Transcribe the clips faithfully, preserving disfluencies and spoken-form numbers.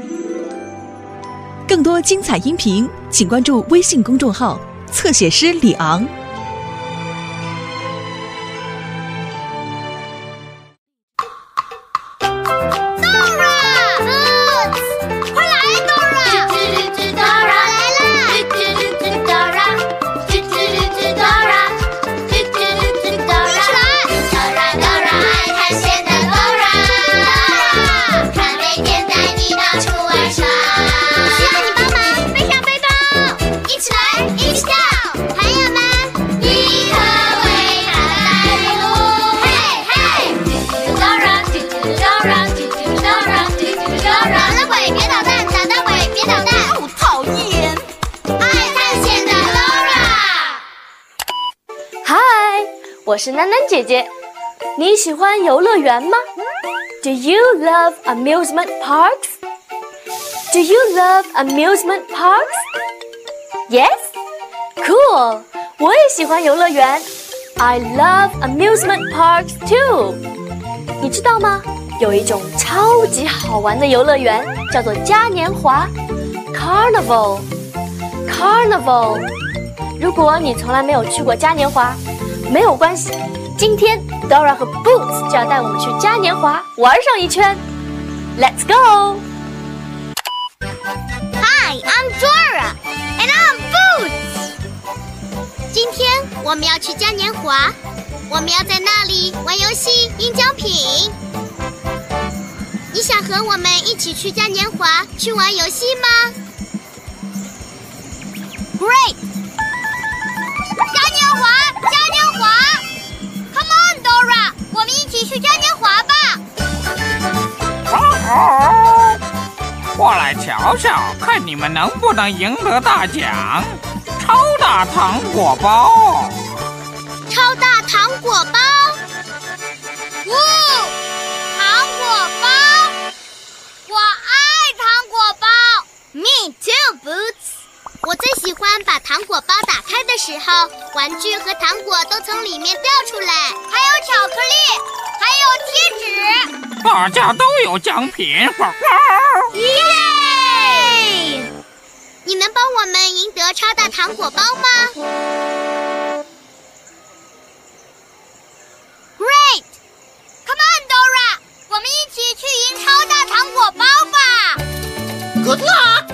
更多精彩音频，请关注微信公众号“侧写师李昂”。 我是囡囡姐姐，你喜欢游乐园吗？ Do you love amusement parks? Do you love amusement parks? Yes? Cool! 我也喜欢游乐园 I love amusement parks too! 你知道吗？有一种超级好玩的游乐园叫做嘉年华 Carnival Carnival 如果你从来没有去过嘉年华没有关系，今天 Dora 和 Boots 就要带我们去嘉年华玩上一圈。Let's go! Hi, I'm Dora, and I'm Boots. 今天我们要去嘉年华，我们要在那里玩游戏、赢奖品。你想和我们一起去嘉年华去玩游戏吗 ？Great! 嘉年华，嘉年华 ！Come on, Dora， 我们一起去嘉年华吧！ 哦，过来瞧瞧，看你们能不能赢得大奖——超大糖果包！ 超大糖果包！哇，糖果包！我爱糖果包 ！Me too, Boots。我最喜欢把糖果包打开的时候，玩具和糖果都从里面掉出来，还有巧克力，还有贴纸， 大家都有奖品！ 耶！你能帮我们赢得超大糖果包吗 ？Great! Come on, Dora， 我们一起去赢超大糖果包吧 ！Good luck！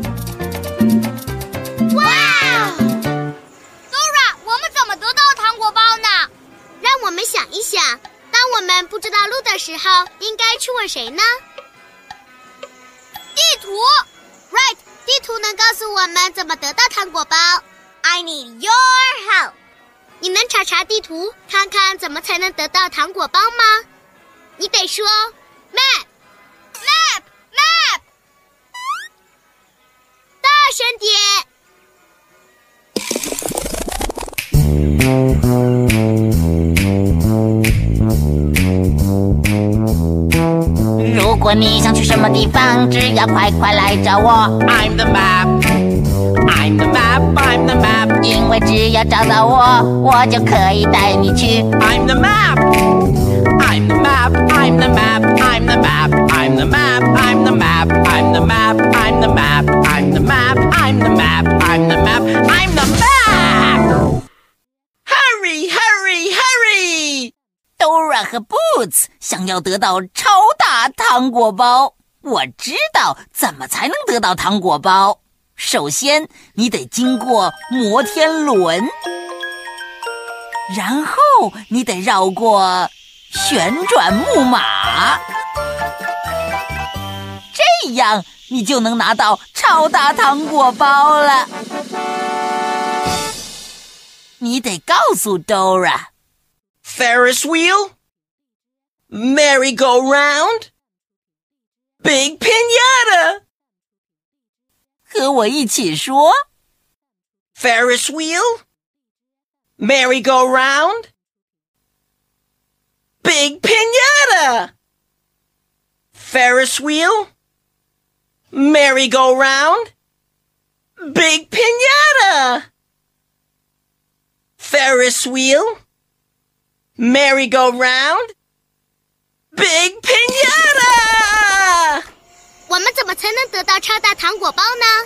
哇 Dora， 我们怎么得到糖果包呢？让我们想一想，当我们不知道路的时候，应该去问谁呢？地图 Right， 地图能告诉我们怎么得到糖果包。I need your help。你能查查地图，看看怎么才能得到糖果包吗？你得说 Map Map Map， 大声点。 如果你想去什么地方，只要快快来找我。 I'm the map I'm the map I'm the map 因为只要找到我，我就可以带你去。 I'm the map I'm the map I'm the map I'm the map I'm the map I'm the map I'm the map I'm the map I'm the map I'm the map I'm the map I'm the map Hurry hurry hurry Dora 和 Boots 想要得到超大糖果包，我知道怎么才能得到糖果包。首先，你得经过摩天轮，然后你得绕过旋转木马，这样你就能拿到超大糖果包了。你得告诉 Dora。Ferris wheel, merry-go-round, big pinata. 和我一起说 Ferris wheel, merry-go-round, big pinata. Ferris wheel, merry-go-round, big pinata. Ferris wheel, merry-go-round, big pinata! 我们怎么才能得到超大糖果包呢？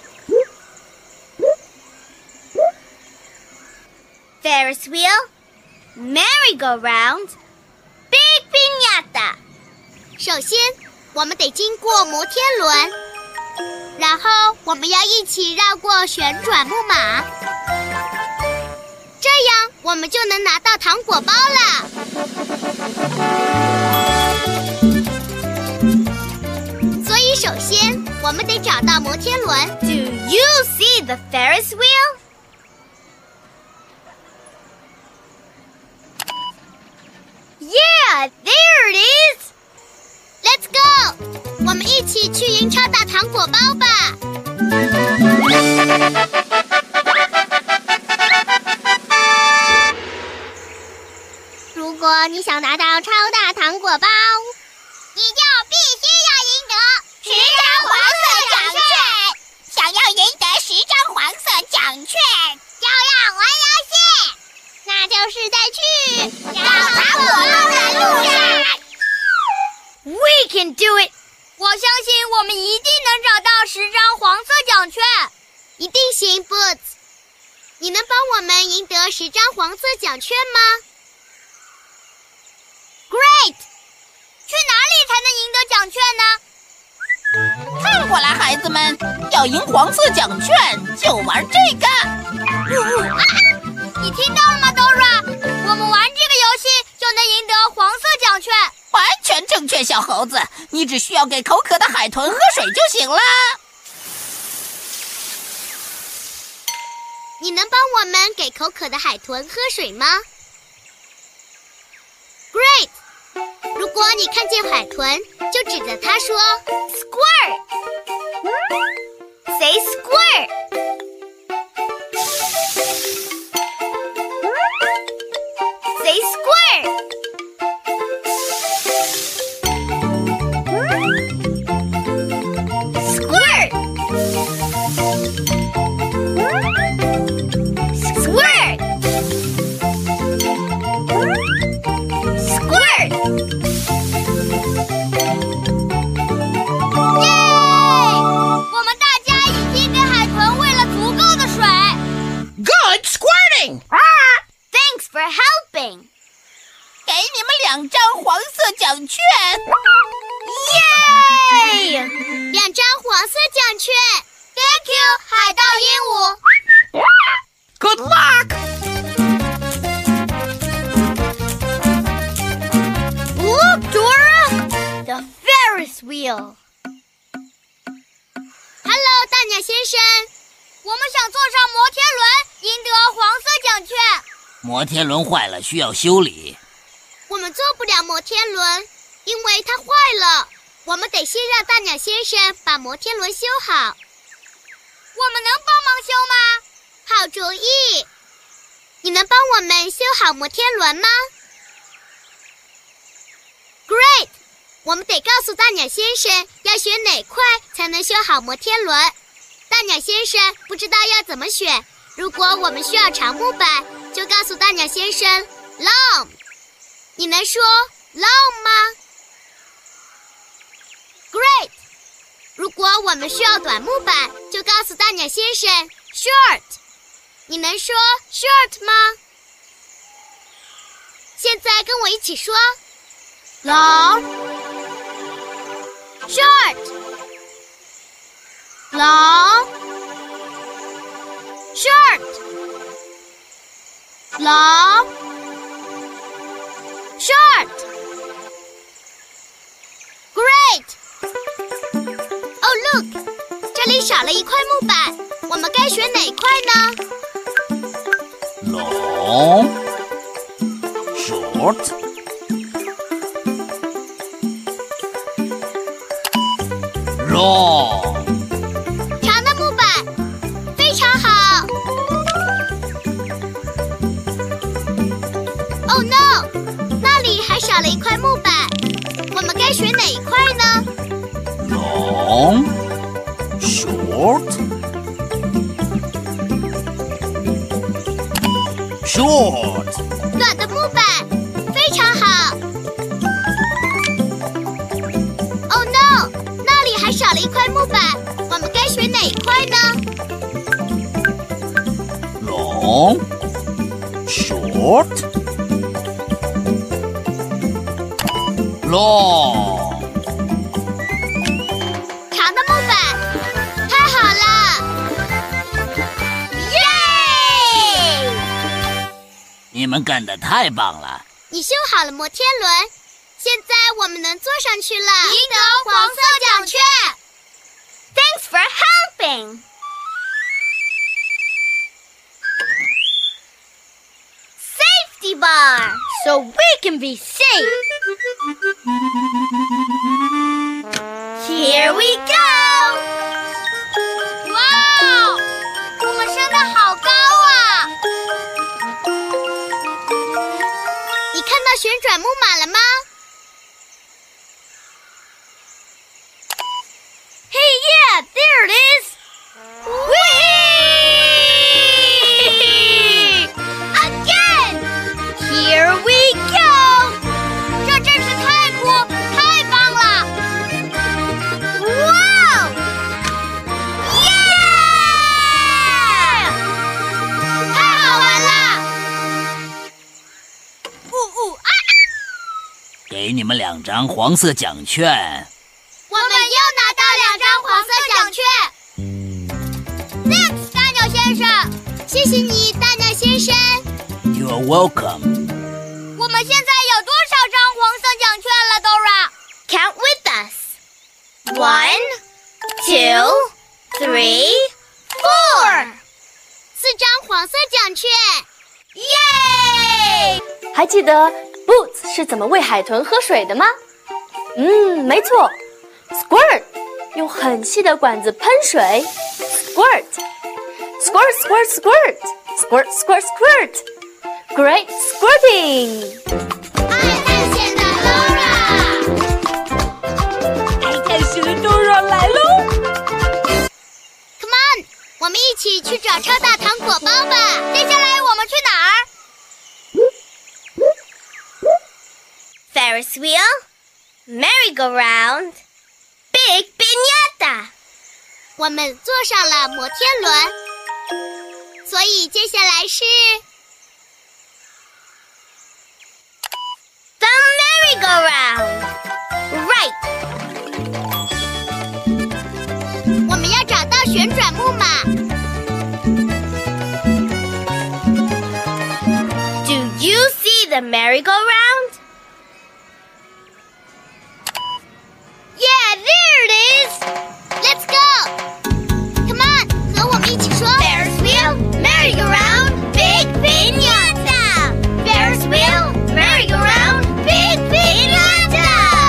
Ferris wheel, merry-go-round, big piñata。首先，我们得经过摩天轮，然后我们要一起绕过旋转木马，这样我们就能拿到糖果包了。所以，首先我们得找到摩天轮。Do you see the Ferris wheel? Yeah, there it is. Let's go. 我们一起去赢超大糖果包吧。如果你想拿到超大糖果包，你就必须要赢得十张黄色奖券。想要赢得十张黄色奖券，就要玩游戏，那就是在去找糖果包的路上。We can do it！ 我相信我们一定能找到十张黄色奖券。一定行 ，Boots！ 你能帮我们赢得十张黄色奖券吗 ？Great！ 去哪里才能赢得奖券呢？ 看过来，孩子们，要赢黄色奖券就玩这个。 啊、你听到了吗 ，Dora？ 我们玩这个游戏就能赢得黄色奖券。 完全正确，小猴子，你只需要给口渴的海豚喝水就行了。 你能帮我们给口渴的海豚喝水吗 ？Great！ 如果你看见海豚，就指着它说 “squirt”。Say squirt。Say squirt。Thanks for helping. 给你们两张黄色奖券。 耶！两张黄色奖券。Thank you， 海盗鹦鹉。 Good luck. Look, Dora, the Ferris wheel. Hello， 大鸟先生。我们想坐上摩天轮，赢得黄色奖券。 摩天轮坏了，需要修理。 我们坐不了摩天轮，因为它坏了。我们得先让大鸟先生把摩天轮修好。我们能帮忙修吗？好主意！你能帮我们修好摩天轮吗 ？Great！ 我们得告诉大鸟先生要选哪块才能修好摩天轮。大鸟先生不知道要怎么选。如果我们需要长木板，就告诉大鸟先生 long。你能说 long 吗 ？Great。如果我们需要短木板，就告诉大鸟先生 short。你能说 short 吗？现在跟我一起说 long short long short long short great oh look 这里少了一块木板，我们该选哪块呢 Long short long 长的木板非常好。Oh no， 那里还少了一块木板，我们该选哪一块呢 Long short short 短的木板非常好。Oh no， 那里还块木板，我们该选哪一块呢？ Long, short, long. 长的木板，太好了！耶！ 你们干得太棒了！ 你修好了摩天轮，现在我们能坐上去了，赢得黄色奖券。Thanks for helping. Safety bar, so we can be safe. Here we go. 哇哦，我们升得好高啊！你看到旋转木马了吗？ Hey, yeah, there it is! Whee! Again! Here we go! 这真是太酷，太棒了！哇哦！耶！太好玩了！呜呜啊！ 给你们两张黄色奖券。 我们又拿到两张黄色奖券。Thanks， 大鸟先生，谢谢你，大鸟先生。 You're welcome. 我们现在有多少张黄色奖券了 ，Dora？Count with us. One, two, three, four. 四张黄色奖券，耶！ 还记得 Boots 是怎么喂海豚喝水的吗？嗯，没错。 Squirt， 用很细的管子喷水 ，squirt， squirt squirt squirt squirt squirt squirt，Great squirting！ 爱探险的 Dora， 爱探险的 Dora 来喽 Come on， 我们一起去找超大糖果包吧。接下来我们去哪儿 ？Ferris wheel, merry-go-round。 Big Piñata， 我们坐上了摩天轮，所以接下来是 The merry-go-round。Right， 我们要找到旋转木马。Do you see the merry-go-round？ Yeah, there it is! Let's go! Come on, 和我们一起说 Ferris wheel, merry-go-round, big piñata! Ferris wheel, merry-go-round, big piñata!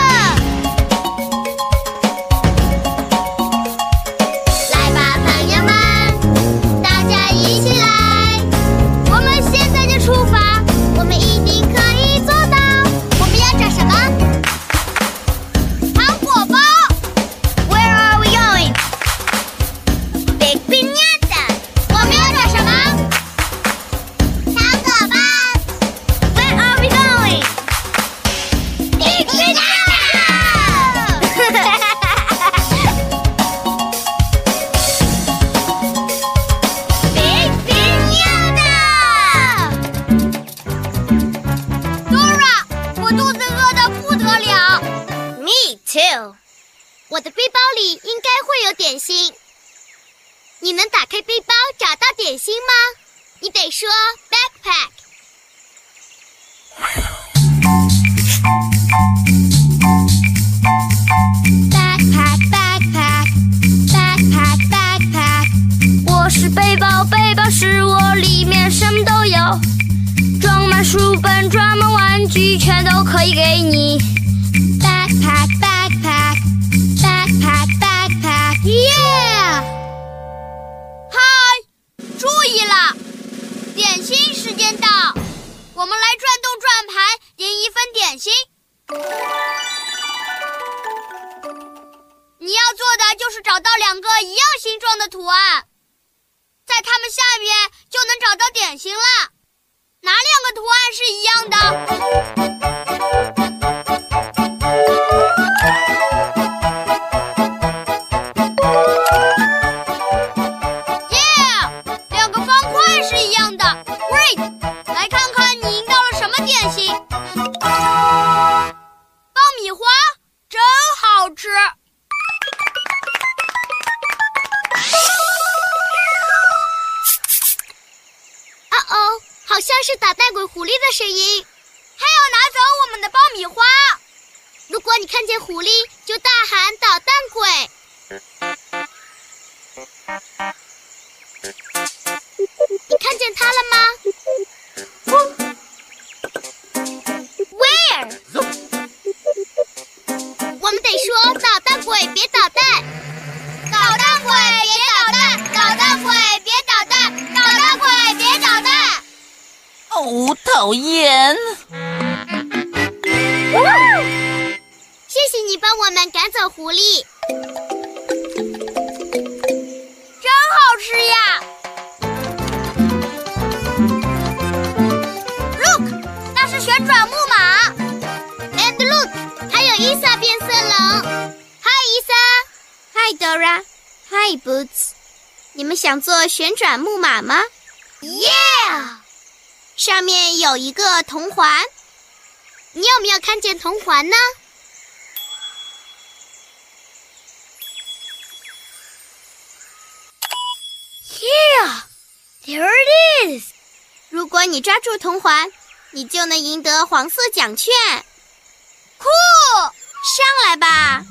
来吧，朋友们，大家一起来！我们现在就出发，我们一定可以做到！我们要找什么？ Where are we going? Big Piñata. 我们要找什么？糖果包。Where are we going? Big Piñata. Big Piñata. Dora， 我肚子饿得不得了。Me too. 我的背包里应该会有点心。你能打开背包找到点心吗？你得说 backpack。backpack backpack backpack backpack。我是背包，背包是我里面什么都有，装满书本，装满玩具，全都可以给你。backpack backpack。 Backpack, backpack, yeah! 嗨，注意了，点心时间到，我们来转动转盘，点一份点心。你要做的就是找到两个一样形状的图案，在它们下面就能找到点心了。哪两个图案是一样的？ 是捣蛋鬼狐狸的声音。 还要拿走我们的爆米花。 如果你看见狐狸，就大喊捣蛋鬼。你看见它了吗 ？Where？ 我们得说捣蛋鬼别捣蛋， 捣蛋鬼别捣蛋，捣蛋鬼别捣蛋，捣蛋鬼别捣蛋。 哦，讨厌！ 谢谢你帮我们赶走狐狸， 真好吃呀 ！Look， 那是旋转木马。 And look， 还有伊莎变色龙。Hi， 伊莎。Hi Dora。Hi Boots。你们想做旋转木马吗 ？Yeah！ 上面有一个铜环，你有没有看见铜环呢？ Yeah, there it is. 如果你抓住铜环，你就能赢得黄色奖券。 酷！ 上来吧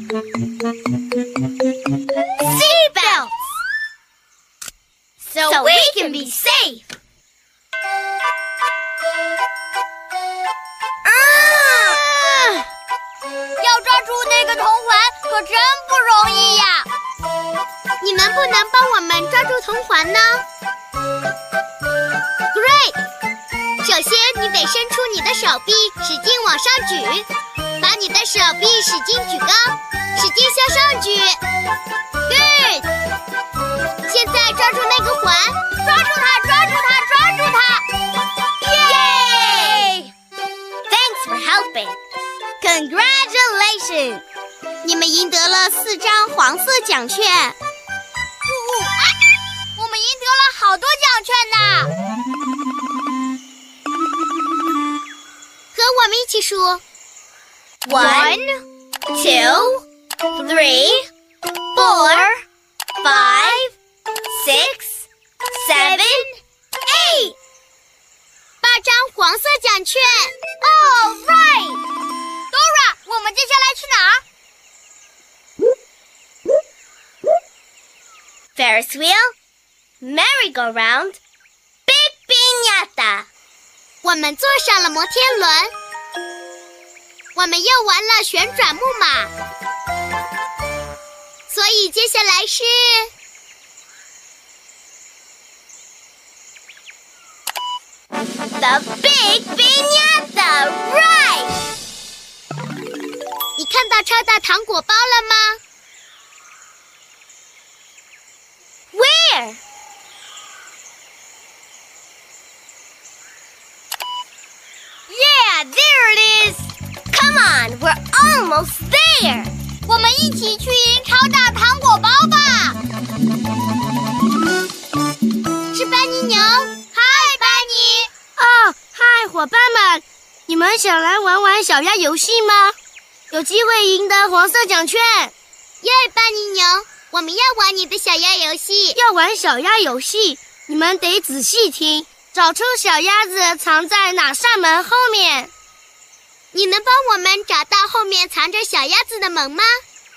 ！Seatbelts, so, so we can be safe. 啊！要抓住那个铜环可真不容易呀！ 你能不能帮我们抓住铜环呢 ？Great！ 首先，你得伸出你的手臂，使劲往上举，把你的手臂使劲举高，使劲向上举。Good！ 现在抓住那个环， 抓住它，抓住它，抓住它 ！Yay! Thanks for helping. Congratulations! 你们赢得了四张黄色奖券。 我们赢得了好多奖券呢！ 和我们一起数 ：One, two, three, four, five, six, seven, eight。 八张黄色奖券。 All right, Dora， 我们接下来去哪儿 ？Ferris wheel。Merry-go-round, Big Piñata。我们坐上了摩天轮，我们又玩了旋转木马，所以接下来是 The Big Piñata Ride。你看到超大糖果包了吗 ？Where？ Yeah, there it is. Come on, we're almost there. 我们一起去赢超大糖果包吧！ 是班尼牛。 嗨，班尼。 哦，嗨，伙伴们，你们想来玩玩小鸭游戏吗？有机会赢得黄色奖券。 耶，班尼牛，我们要玩你的小鸭游戏。 要玩小鸭游戏，你们得仔细听。找出小鸭子藏在哪扇门后面。 你能帮我们找到后面藏着小鸭子的门吗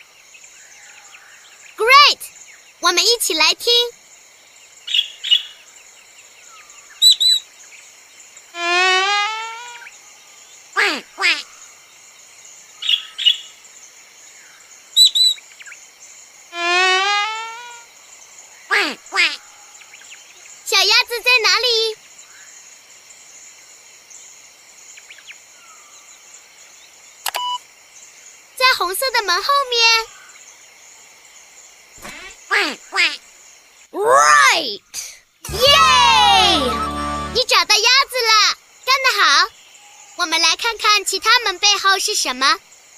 ？Great！ 我们一起来听。哇哇！哇哇！小鸭子在哪里？在红色的门后面。哇哇 Right！ 耶！你找到鸭子了，干得好！我们来看看其他门背后是什么。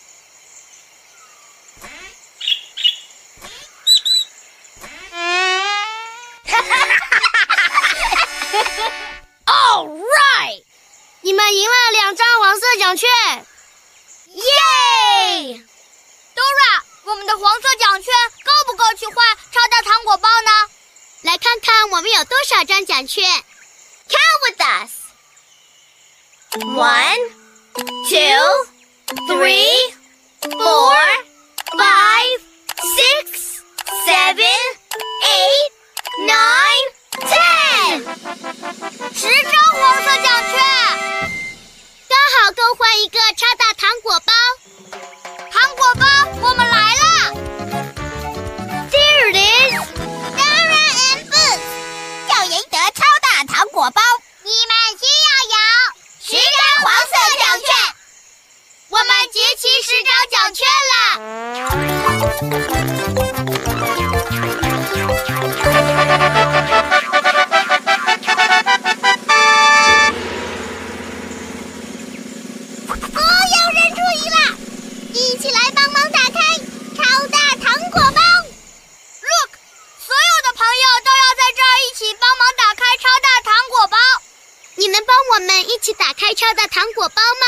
All right！ 你们赢了两张黄色奖券。 耶 ！Dora， 我们的黄色奖券够不够去换超大糖果包呢？ 来看看我们有多少张奖券。Count with us. One, two, three, four, five, six, seven, eight, nine, ten. 十张黄色奖券， 刚好够换一个超大糖果包。 糖果包，我们来了。 There it is. Dora and Boots 要赢得超大糖果包，你们需要有十张黄色奖券。我们集齐十张奖券了。哦，有人注意了，一起来帮忙打开超大糖果包。Look， 所有的朋友都要在这儿一起帮忙打开超大糖果包。 你能帮我们一起打开超大糖果包吗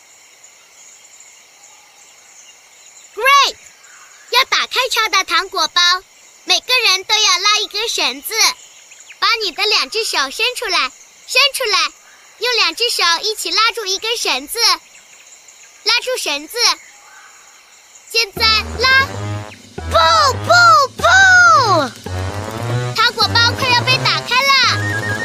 ？Great！ 要打开超大糖果包，每个人都要拉一根绳子，把你的两只手伸出来，伸出来，用两只手一起拉住一根绳子，拉住绳子，现在拉，不不不！糖果包快要被打开了，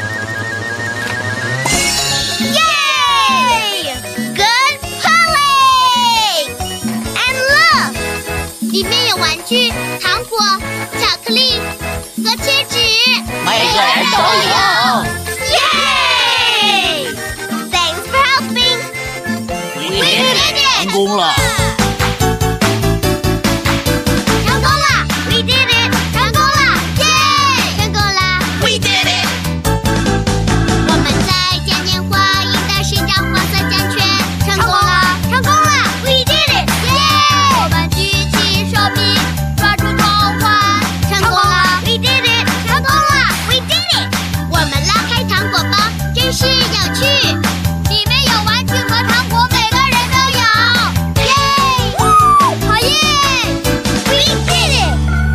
耶 ！Good pulling! And look， 里面有玩具、糖果、巧克力和贴纸， 每个人都有。 耶 ！Thanks for helping. We did it！ 成功了。 成功了 ！We did it！ 成功了！耶！ 成功啦！ We did it！ 我们在嘉年华赢得十张黄色奖券，成功了！ 成功了 ！We did it！ 耶！我们举起手臂，抓住头环， 成功了！ We did it！ 成功了 ！We did it！ 我们拉开糖果包，真是有趣。 里面有玩具和糖果，每个人都有。耶！好耶 ！We did it！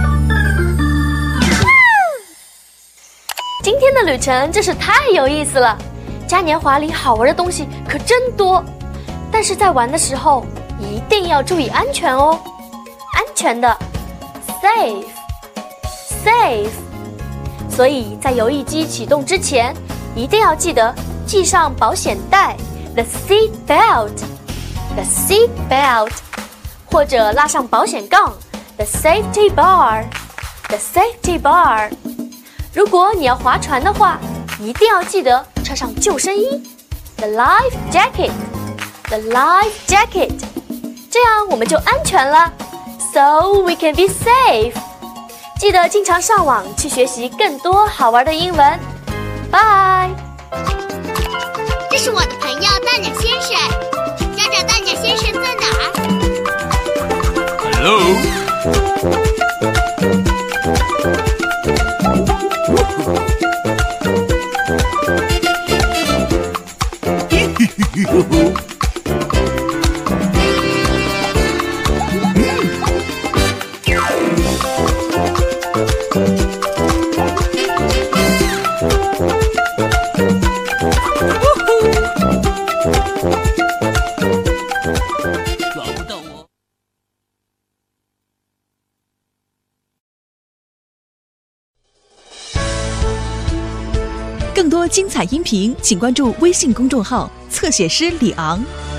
今天的旅程真是太有意思了，嘉年华里好玩的东西可真多，但是在玩的时候一定要注意安全哦，安全的 ，safe safe。所以在游艺机启动之前，一定要记得系上保险带 ，the seat belt，the seat belt， 或者拉上保险杠 ，the safety bar，the safety bar。如果你要划船的话，一定要记得穿上救生衣 ，the life jacket，the life jacket， 这样我们就安全了 ，so we can be safe。记得经常上网去学习更多好玩的英文。拜。 这是我的朋友大鸟先生，找找大鸟先生在哪儿 Hello。 抓不到我。 更多精彩音频，请关注微信公众号“侧写师李昂”。